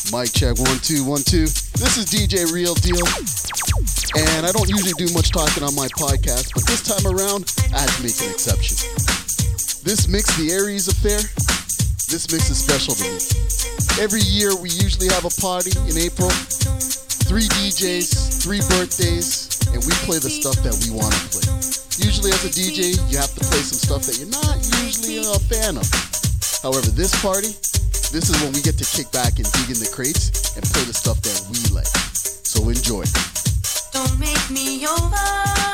Mic check, 1 2 1 2. This is DJ Real Deal, and I don't usually do much talking on my podcast, but this time around, I had to make an exception. This mix, the Aries Affair, this mix is special to me. Every year, we usually have a party in April. 3 DJs, 3 birthdays, and we play the stuff that we want to play. Usually as a DJ, you have to play some stuff that you're not usually a fan of. However, this party, this is when we get to kick back and dig in the crates and play the stuff that we like. So enjoy. Don't make me over.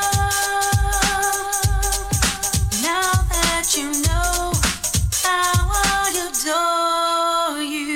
Now that you know how I adore you.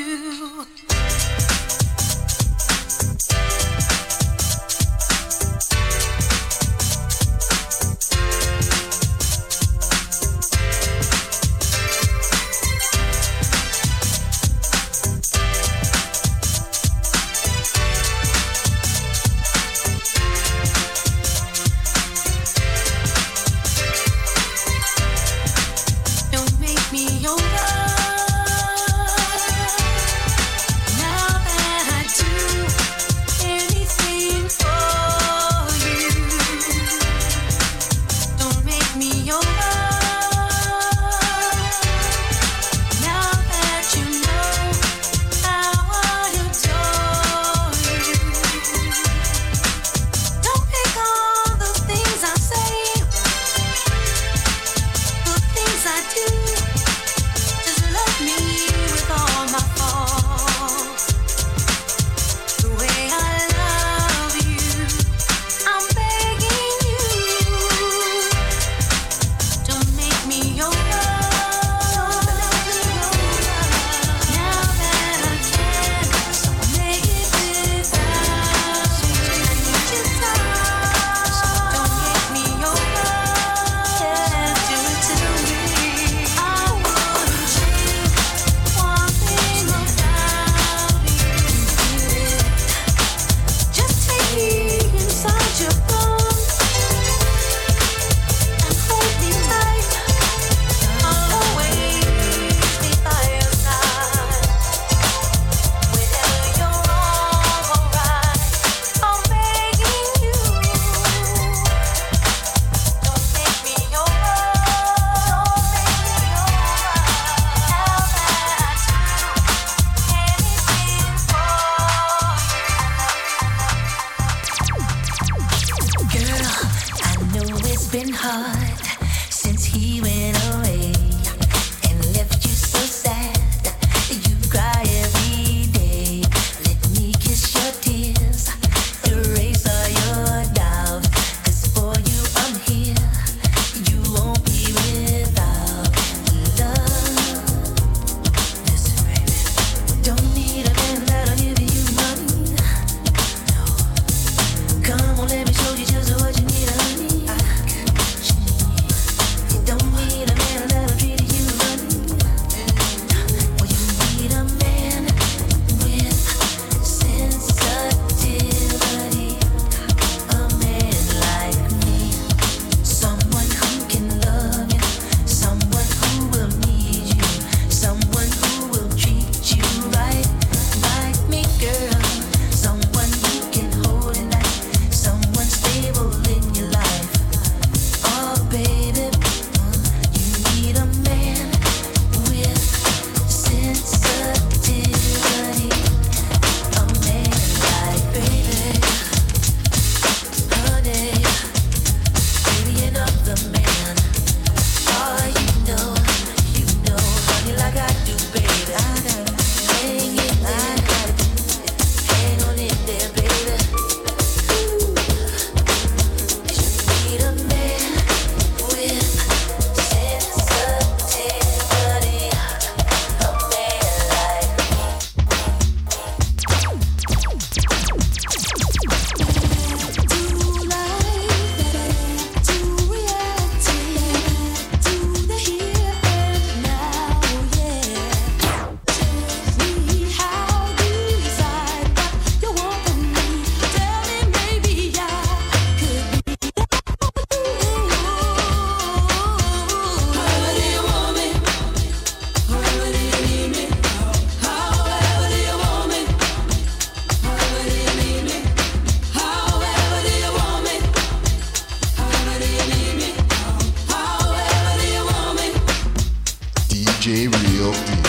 DJ Real Deal.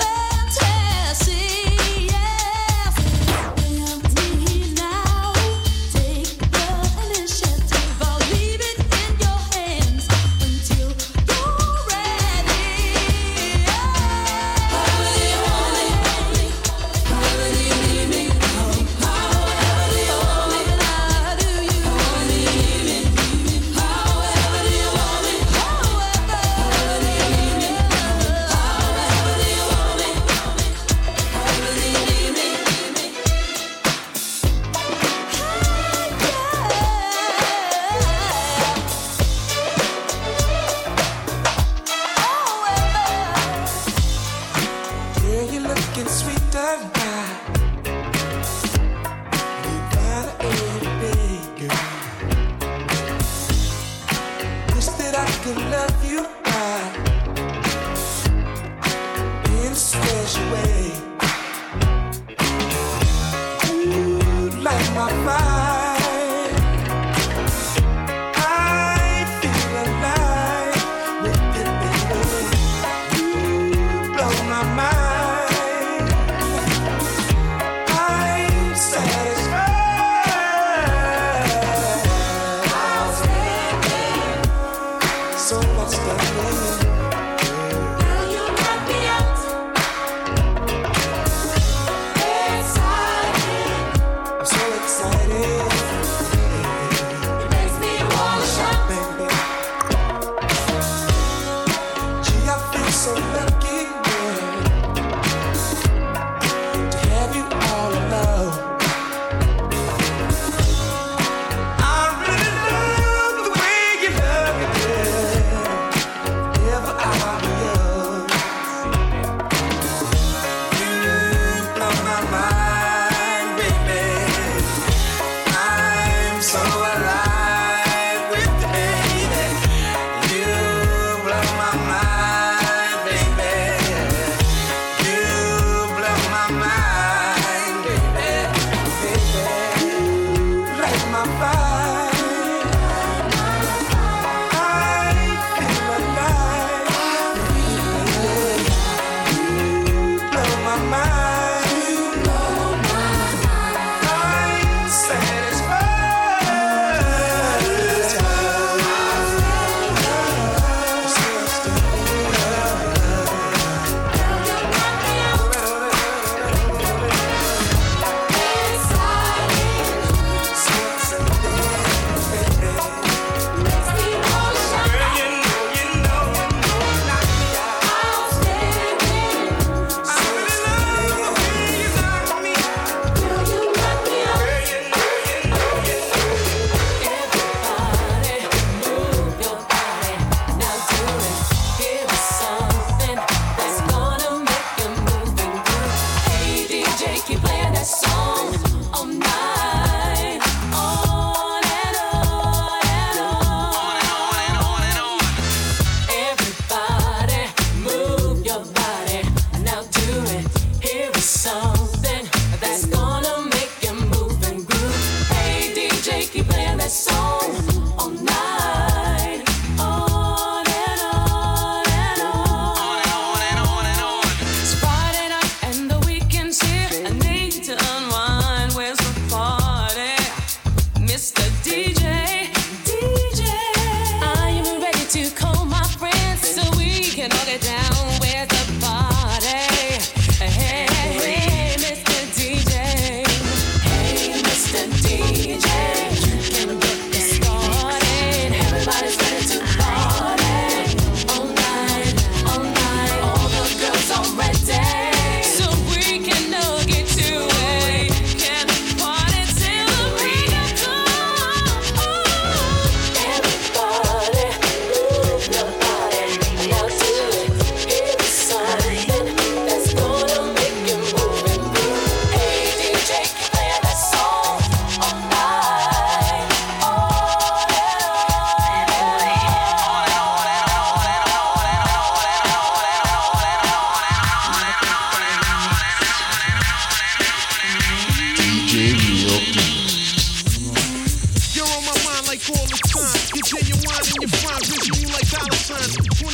Now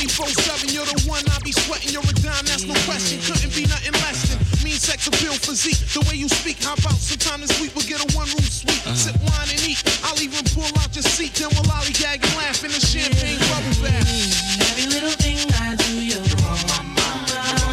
24/7, you're the one I be sweating. You're a dime, that's no question. Couldn't be nothing less than mean sex appeal physique. The way you speak, how about sometime this week we'll get a one-room suite. Sip wine and eat. I'll even pull out your seat. Then we'll lollygag and laugh in the champagne bubble bath. Every little thing I do, you're on my mind.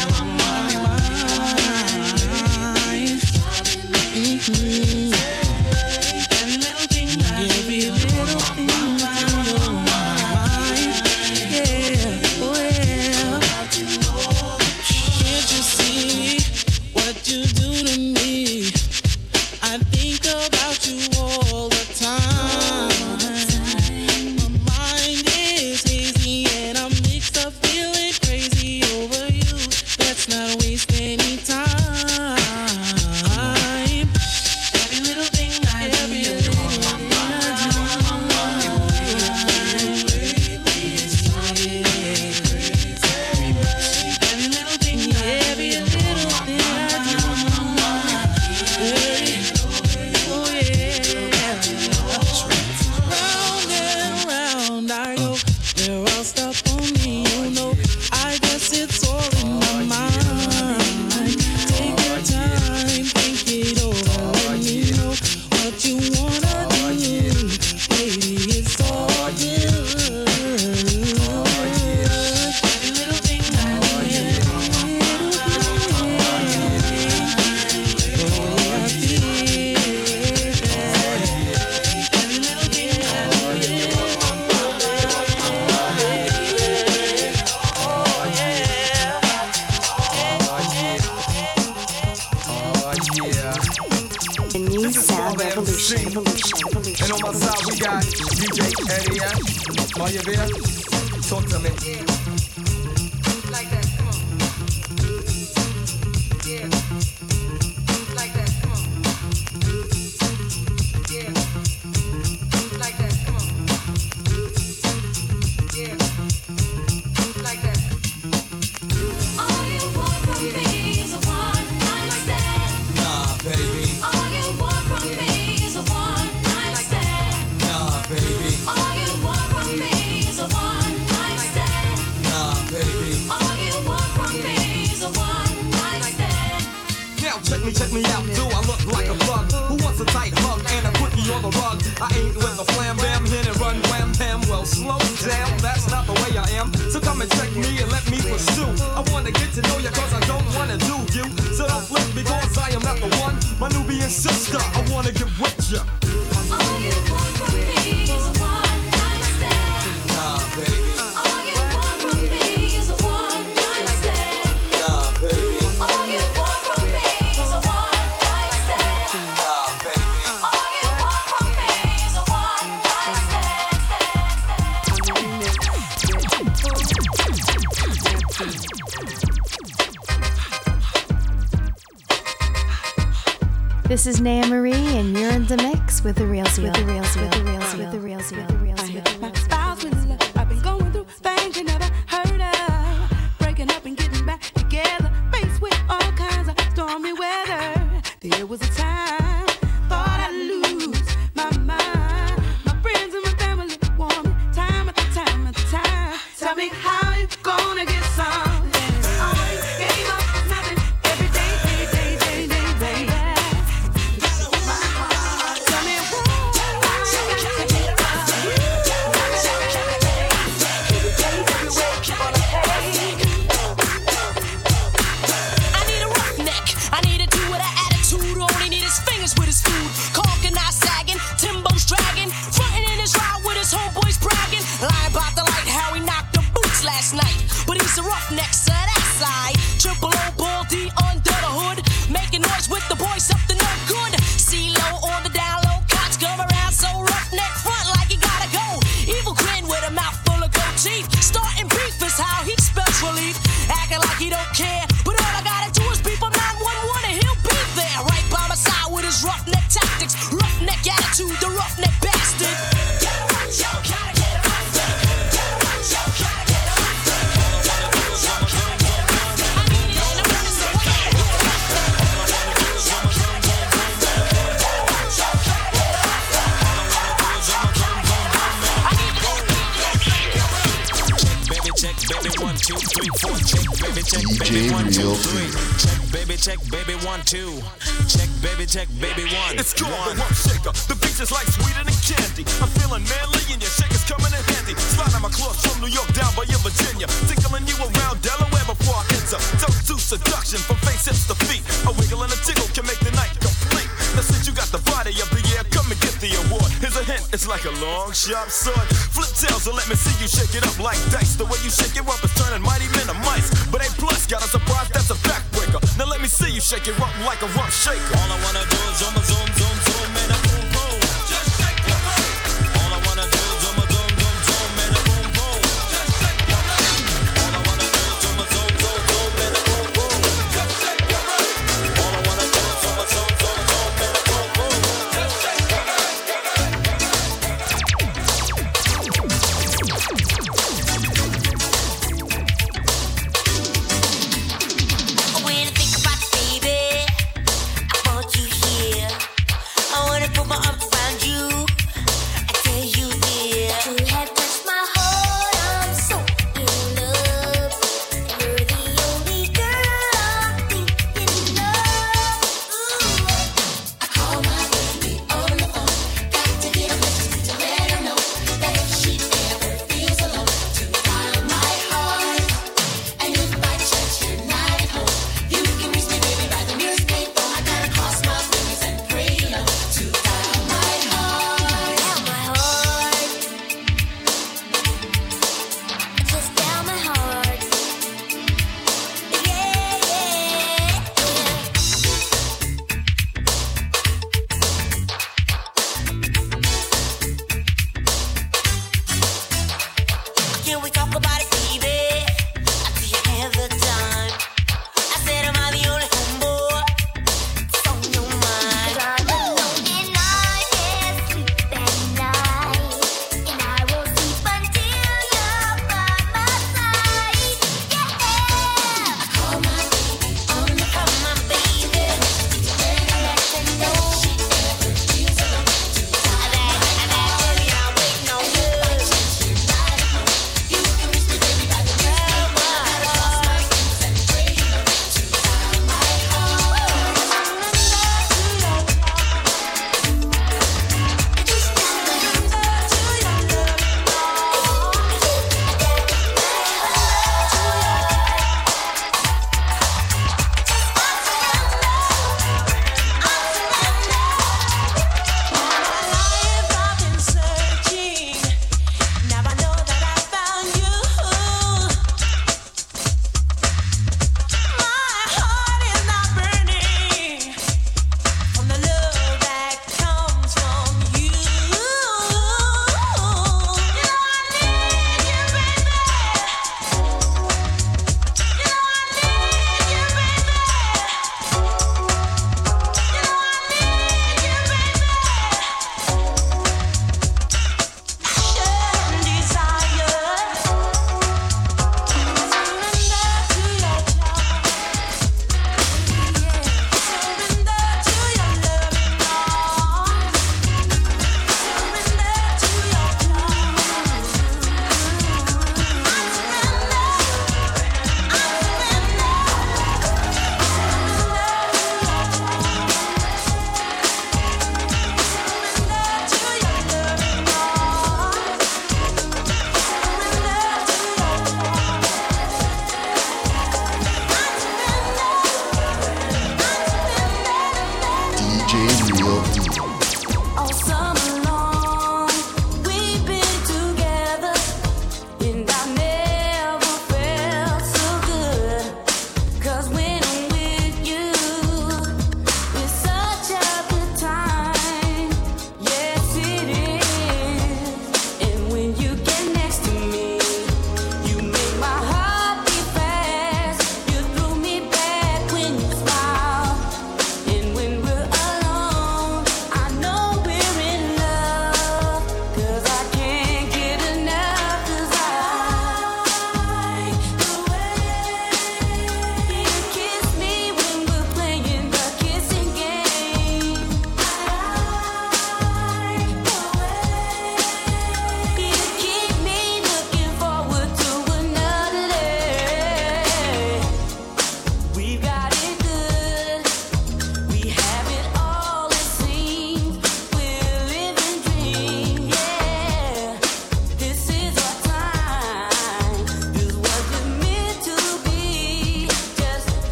Every little thing I do, every little thing I do, you're on my mind. Yeah, oh yeah. Can't you see what you do to me? I think about you all the time. My mind is hazy and I'm mixed up, feeling crazy over you. Let's not waste any time. Every little thing I do, every little thing I do. Every little thing, every little thing I do. Oh yeah. Round and round I go. They're all stuck on me, you know. I guess it's all in my mind. Take your time, think it over. Let me know what you wanna do. Baby, it's all good. Every little thing I do, every little thing. Oh, I feel every little thing I do. The new sound revolution. And on my side we got DJ Eddie F. Are you there? Talk to me. Like that, come on. Yeah. Like that, come on. Yeah. Like that, come on. Yeah. Like that. All you want from me is a one-night stand. Nah, baby. All you want from me is a one-night stand. Nah, baby. All you want from me is a one-night stand. Nah, baby. All you want from me is a one-night stand. Now check me out. Do I look like a plug? Who wants a tight hug and a quickie on the rug? I ain't with a flam bam, hit and run wham bam. Well, slow down, that's not the way I am. So come and check me and let me pursue. I wanna get to know ya cause I don't wanna do you. So don't flip because I am not the one. My Nubian sister, I wanna get with ya. All you want from me is a one-night stand. Nah, baby. All you want from me is a one-night stand. Nah, baby. All you want from me is a one-night stand. Nah, baby. All you want from me is a one-night stand. This is Naya Marie, and you're in the mix with the Real Seal. With the Real Seal. With the Real Seal. With the Real Seal. With the Real Seal. Files with love. I've been going through things you never heard of. Breaking up and getting back together. Faced with all kinds of stormy weather. There was a time thought I'd lose my mind. My friends and my family want me time after time after time. Tell me how you gonna get some. Always gave up nothing every day. Tell me I need a roughneck. I need a dude with an attitude. All he need is fingers with his food. Caulking not sagging, Timbo's dragging. Frontin' in his ride with his homeboys bragging. Lying about the light, how he knocked the boots last night. But he's a roughneck, so that's I. Triple O, Ball D under the hood. Making noise with the boys, something no good. C-Lo on the down low. Cops come around so roughneck front like he gotta go. Evil grin with a mouth full of gold teeth. Starting beef is how he spells relief. Acting like he don't care. But all I gotta do is beep on 911 and he'll be there. Right by my side with his roughneck tactics. Roughneck attitude, the roughneck bastard. check, baby, 1, 2, 3. Check, baby, 1, 2. Check, baby, 1. It's called the Rump Shaker. The beach is like sweeter than candy. I'm feeling manly and your shaker's coming in handy. Sliding my claws from New York down by your Virginia. Tickling you around Delaware before I enter. Don't do seduction from face, hips to feet. A wiggle and a jiggle can make the night complete. Now since you got the body of the year, come and get the award. Here's a hint, it's like a long, sharp sword. Flip tails and let me see you shake it up like dice. The way you shake it up is turning mighty men to mice. But A plus got a surprise, that's a backbreaker. Now let me see you shake it up like a rump shaker. All I wanna do is zoom, zoom, zoom, zoom, and a boom, boom. Just shake your rump. All I wanna do is zoom, zoom, zoom, zoom, and a boom, boom. Just shake your rump. All I wanna do is zoom, zoom, zoom, zoom, and a boom, boom. Just shake your rump. All I wanna do is zoom, zoom, zoom, zoom, and a boom, boom. Just shake your rump. When I think about you, baby, I want you here.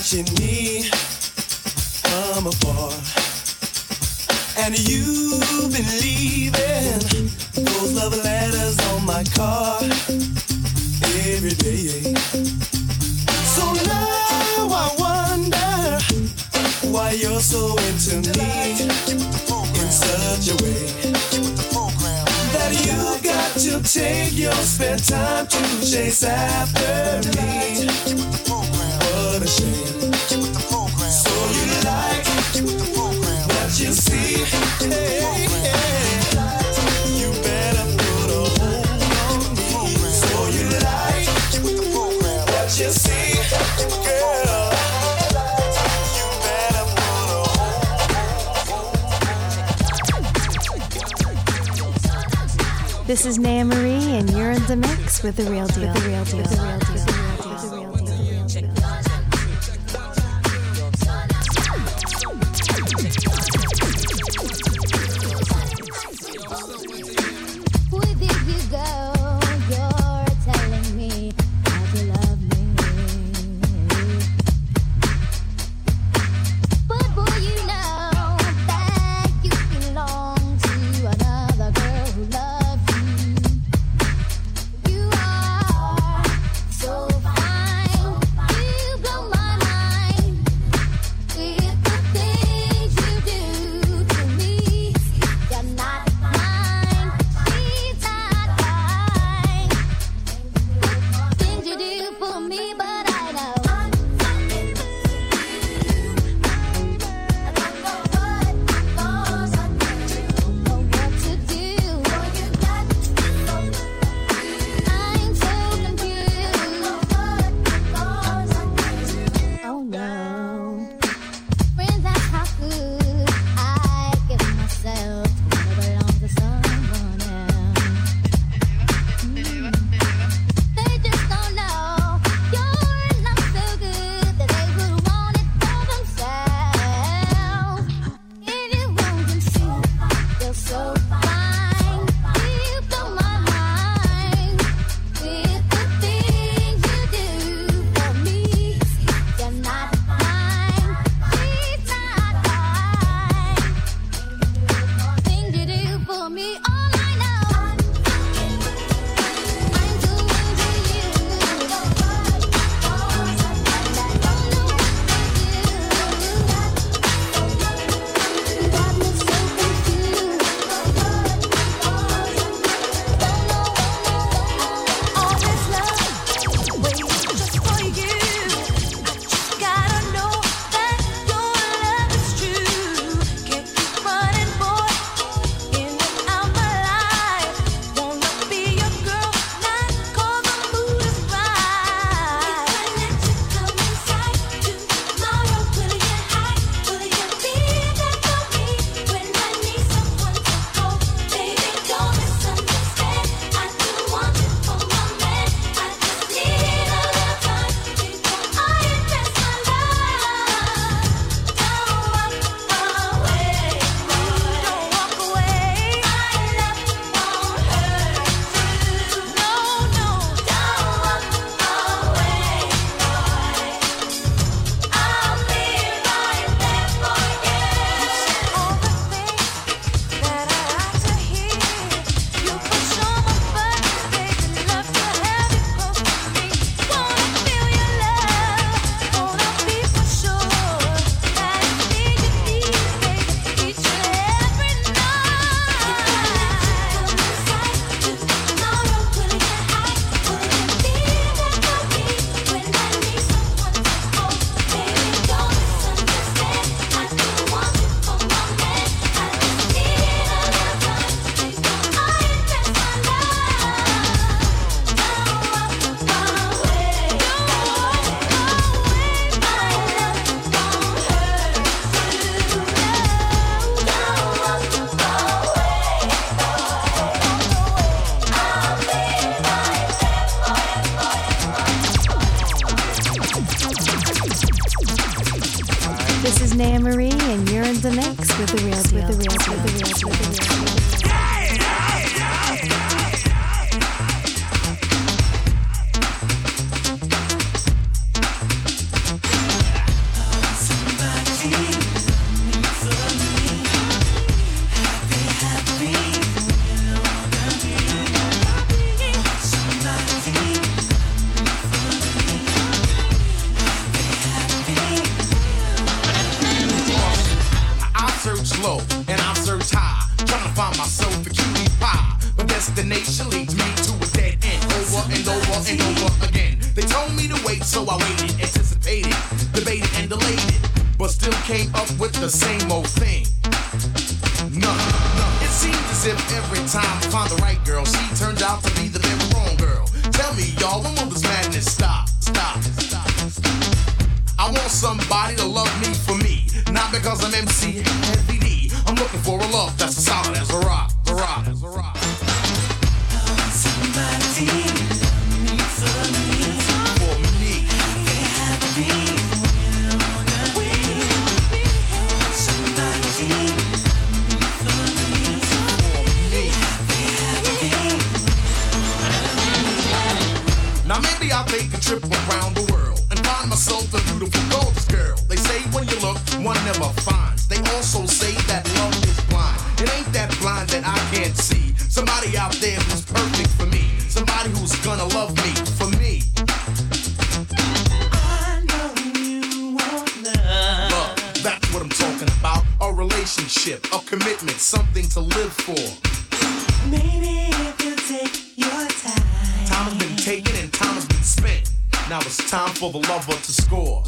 watching me from afar, and you've been leaving those love letters on my car every day. So now I wonder why you're so into me in such a way that you've got to take your spare time to chase after me. What a shame. So you like what you see. Hey, hey. You better put a hold on me. So you like what you see, girl. You better put a hold. This is Naya Marie, and you're in the mix with The Real Deal. The Real Deal. The Real Deal. The Real Deal. Where did you go? You're telling me that you love me, but boy, you know that you belong to another girl who loves you. You are so fine, you blow my mind with the things you do to me. You're not mine, she's not mine. Things you do for me, but I know. What to do? I'm so confused. Oh no. Friends ask how could I give myself to never belong to someone else. They just don't know you're not so good that they would want it for themselves. And you won't see you're so fine. You blow my mind with the things you do for me. You're not mine, she's not mine. Things you do for me, all I know. I'm too into you, and I don't know what to do. Got me so confused. All this love waits just for you. Gotta know that your love is true. Can't keep running, boy, in and out my life. Wanna be your girl, not 'cause the mood is right. When you come inside tomorrow, will you hide? Will you be there for me when I need someone to hold? Baby, don't misunderstand. I do want you for my man. I just need a little time before I invest my love. Don't walk away, boy. Don't walk away. My love won't hurt you. No, no. Don't walk away, boy. I'll be right there for you. All the things that I like to hear. You push on my buttons, baby. Love to have you close to me. Wanna feel your love. Wanna be for sure that it's me you need, baby. Each and every night. Tomorrow, will you hide? Will you be there for me when I need someone to hold? Baby, don't misunderstand. I do want you for my man. I just need a little time before I invest my love. Don't walk away. Don't walk away. My love won't hurt you. No, don't walk away, boy. I'll be right there for you. This is Naya Marie, and you're in the mix with The Real Deal. The Real Deal. The Real Deal. The Real Deal. over and over again. They told me to wait, so I waited, anticipated, debated and delayed it, but still came up with the same old thing. Nothing. It seems as if every time I find the right girl, she turns out to be the very wrong girl. Tell me, y'all, when will this madness stop? I want somebody to love me for me, not because I'm MC Heavy D. I'm looking for a love that's as solid as a rock, a rock, as a rock. Somebody love me for me. For me. Happy somebody love me for me. Now maybe I'll take a trip around the world and find myself a beautiful, gorgeous girl. They say when you look, one never finds. They also say that love is blind. It ain't that blind that I can't see somebody out there who's perfect for me. Somebody who's gonna love me for me. I know you want love. Love, that's what I'm talking about. A relationship, a commitment, something to live for. Maybe if you take your time. Time has been taken and time has been spent. Now it's time for the lover to score.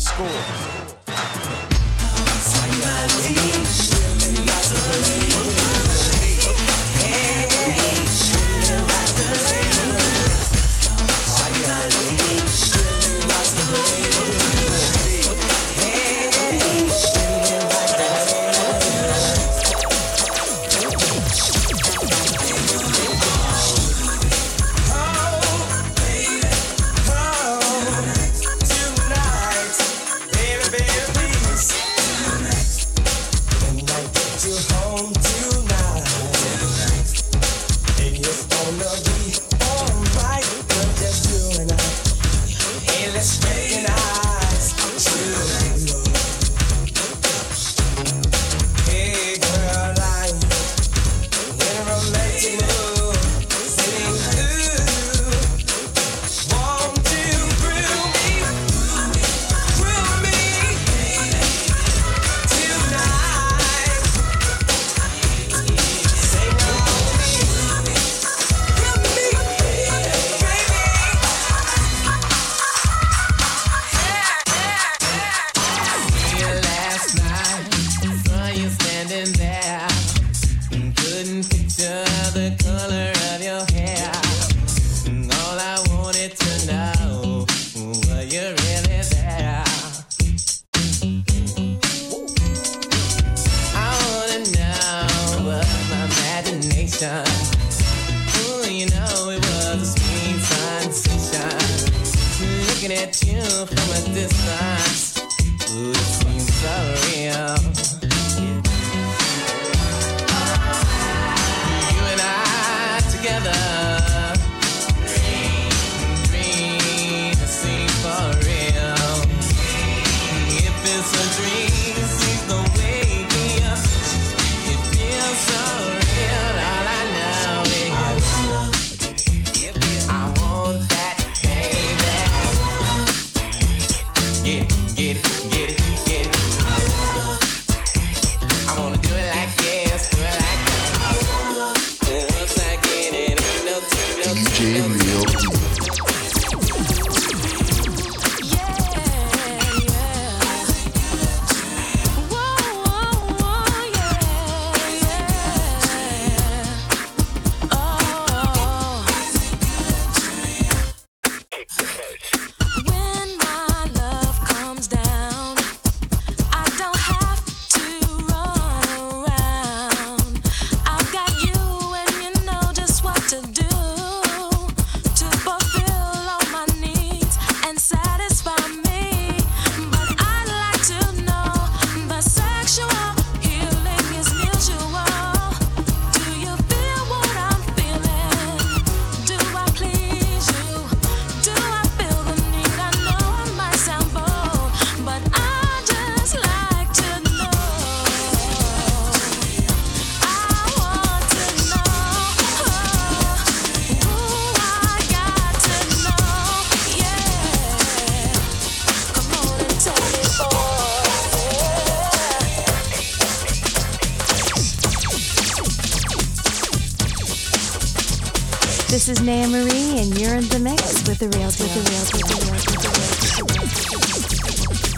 This is Naya Marie, and you're in the mix with the real deal. With the real deal. With the real deal. With the real deal.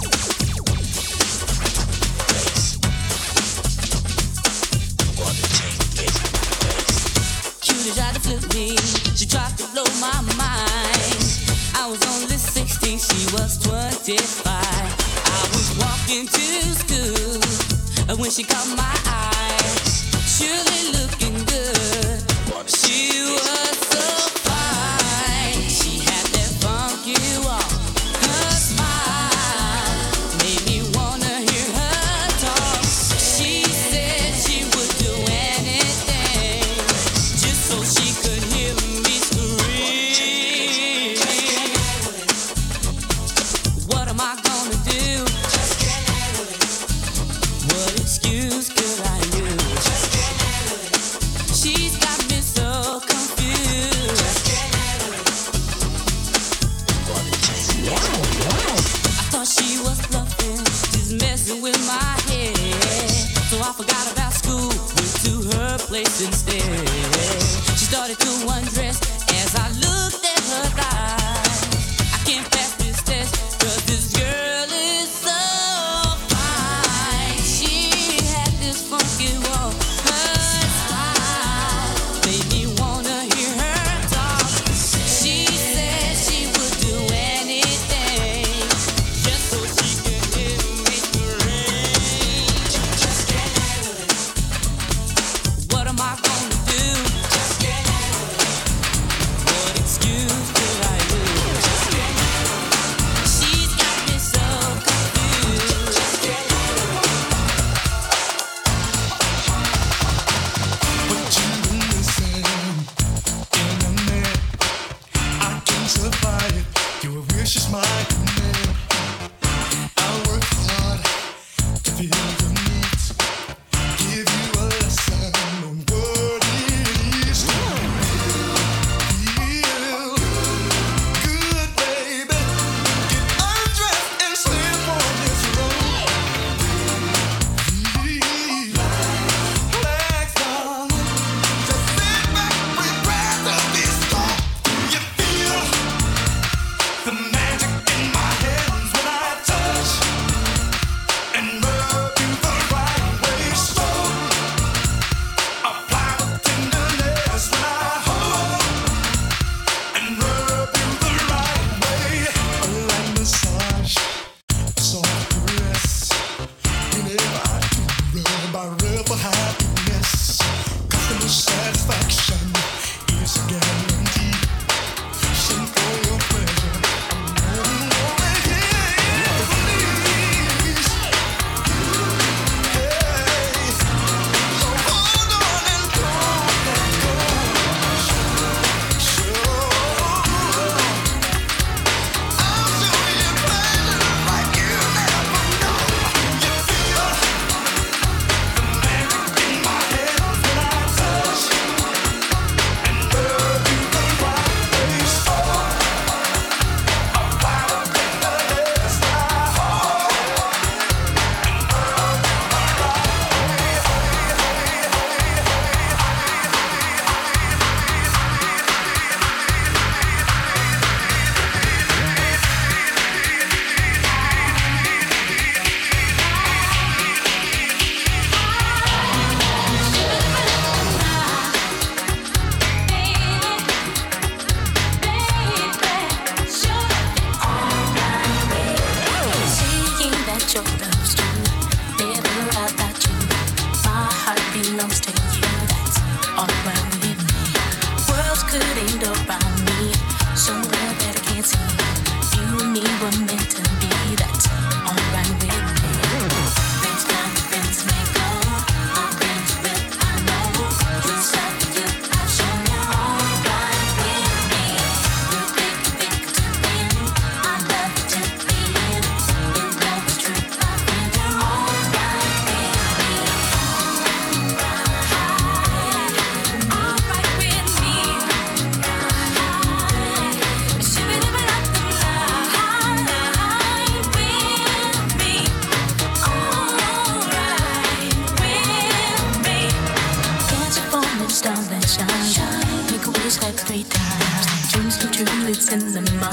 Cutie tried to flip me, she tried to blow my mind. I was only 16, she was 25. I was walking to school when she caught my eye. Surely looking good, she was so fine. She had that funky walk, her smile made me wanna hear her talk. She said she would do anything just so she could hear me scream. What am I gonna do? What excuse could I use? She's got me so confused. I thought she was bluffing, just messing with my head. So I forgot about school, went to her place instead. She started to undress as I looked at her thighs. I can't pass this test, 'cause this girl is so fine. She had this funky walk, her smile made me wanna hear her talk. She said she would do anything just so she could hear me scream. What am I gonna do?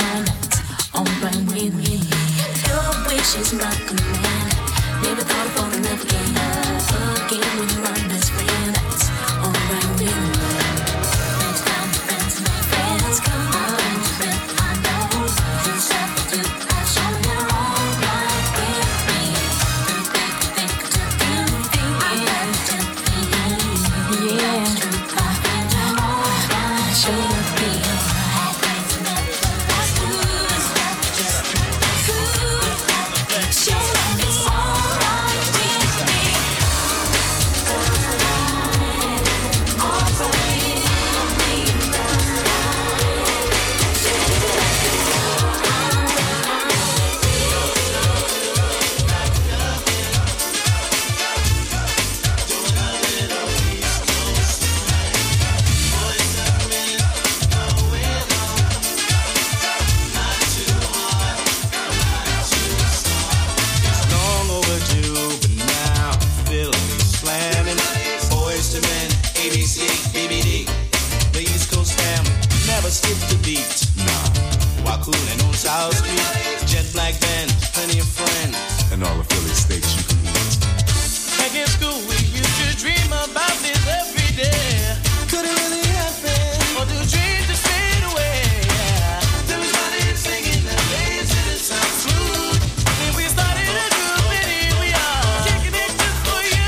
nights, alright with me. Your wish is my command. Never thought of falling love again. Again when you're my best friend. That's alright with me. Next time your friends and my friends come on, friend, I know you substitute. I've shown you're alright with me. Think to do, I love to be. Yeah, it's true. I think you're alright. Should be alright. Show me it's alright with me. Long overdue, but now feeling me slamming. Boys to men, ABC, BBD. The East Coast family never skip the beat. Nah, Wakunin on South Street, jet black band, plenty of friends, and all the Philly steaks you can eat. Back in school, we used to dream about this every day. Could it really happen? Or do dreams just fade away? There was running, singing, and dancing, it sounds smooth. Then we started a group, and here we are, kicking it just for you.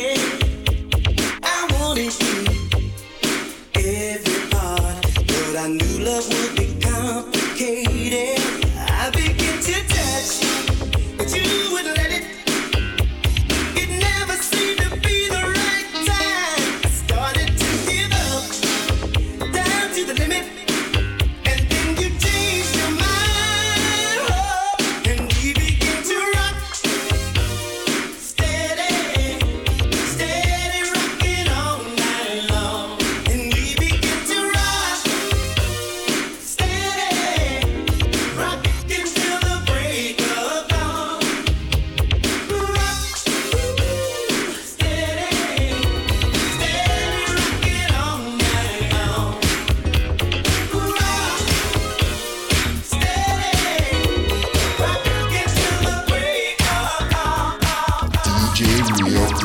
I wanted you every part, but I knew love would be complicated. I began to touch you, but you wouldn't let it. It never seemed to be the right time. I started to give up, down to the limit, and then you changed your mind, oh, and we began to rock, steady, steady rocking all night long, and we began to rock, steady, rocking till the break of dawn. Rock, steady, steady rocking all night long. Rock, steady, rocking till the break of dawn. DJ Real Deal.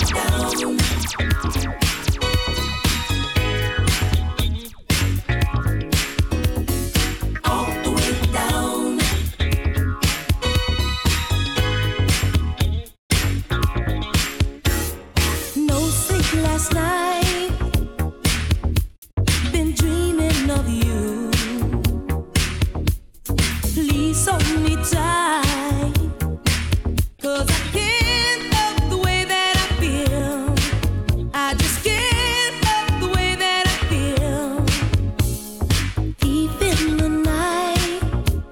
All the way down. No sleep last night. Been dreaming of you. Please hold me tight. 'Cause I can't love the way that I feel. I just can't love the way that I feel. Deep in the night,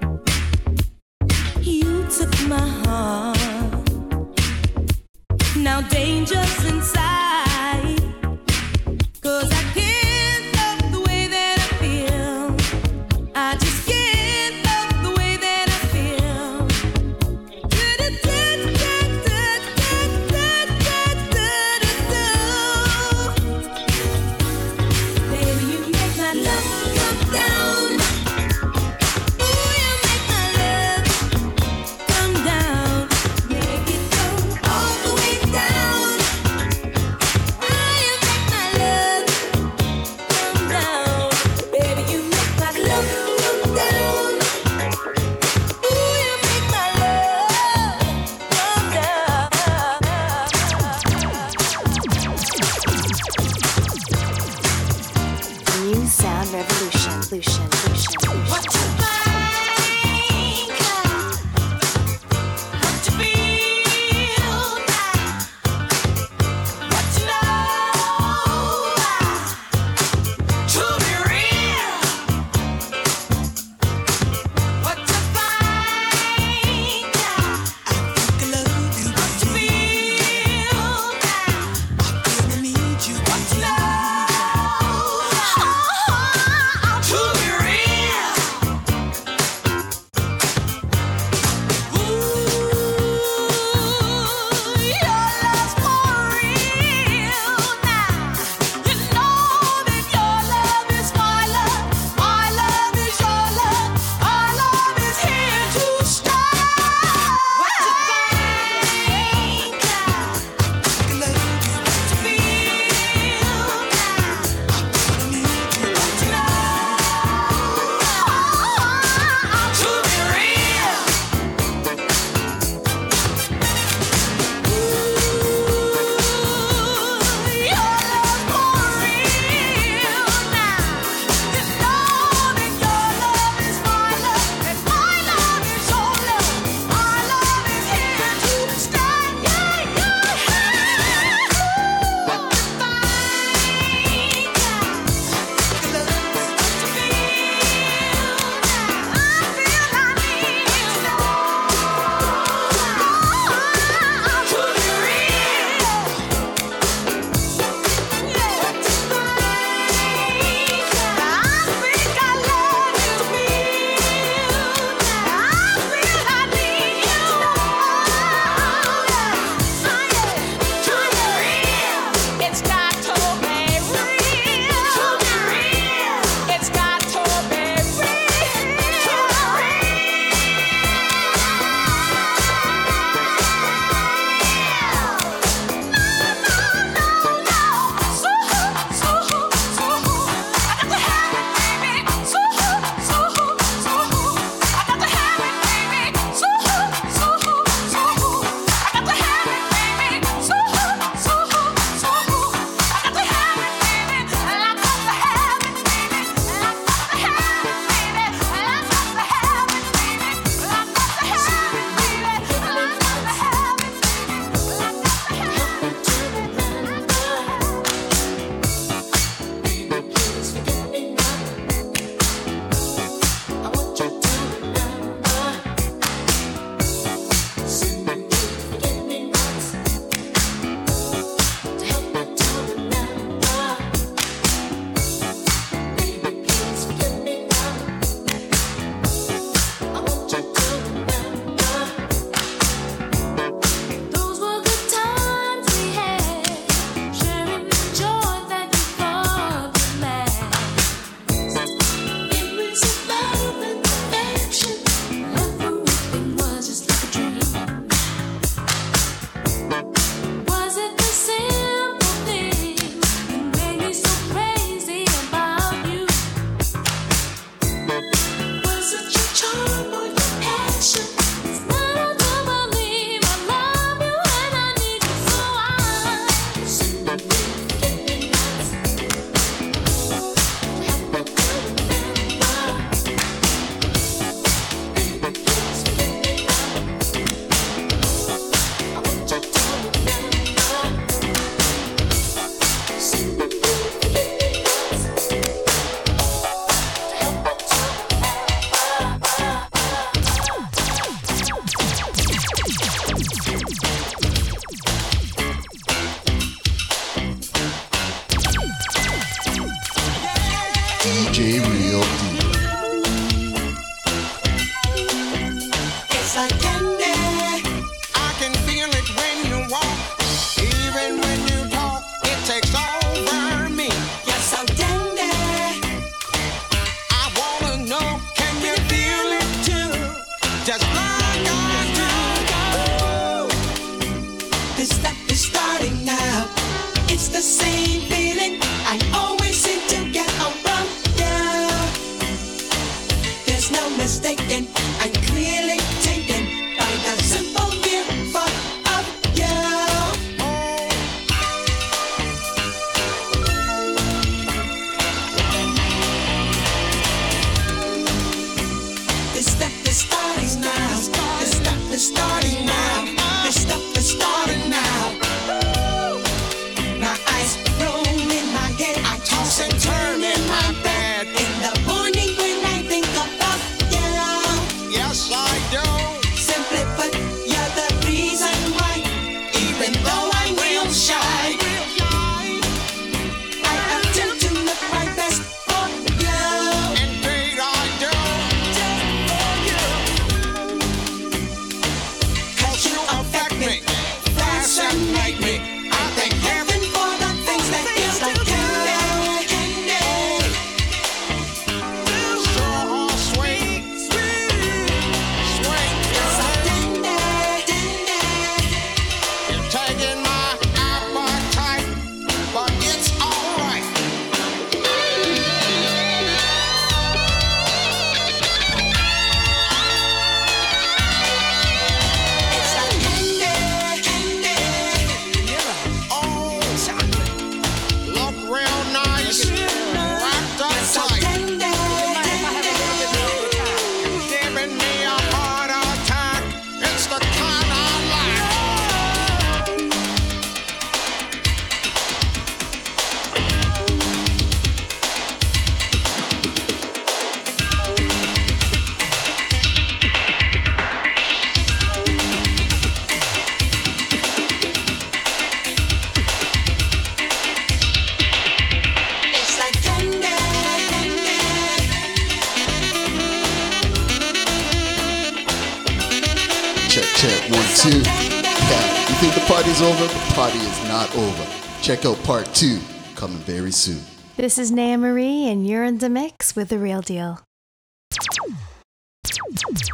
you took my heart. Now danger's inside. DJ Real Deal. It's like candy. I can feel it when you walk, even when you talk. It takes over me. You're so dandy. I wanna know, can you feel it too? Just like I do. This stuff is starting now. It's the same feeling I always seem to get around you. There's no mistaking, I'm clearly taken by the simple mere thought of you. This stuff is starting now. This stuff is starting now. This stuff is starting now. My eyes roll in my head. I toss and turn in my bed. In the morning when I think about you. Yes, I do. Simply put, you're the reason why. Even though I'm real shy, I attempt to look my best for you. Indeed, I do. Cause you affect me, fascinate me. I thank heaven for the things that feels like candy, candy. So sweet, sweet, It's girl. like candy, candy. You're taking my appetite, but it's alright. It's like candy, candy. Oh, look real nice, wrapped up It's like tight. candy, candy. Giving me a heart attack. It's the kind I like. It's like candy, candy. Check, 1, 2. Yeah, you think the party's over? The party is not over. Check out part 2, coming very soon. This is Naya Marie, and you're in the mix with The Real Deal.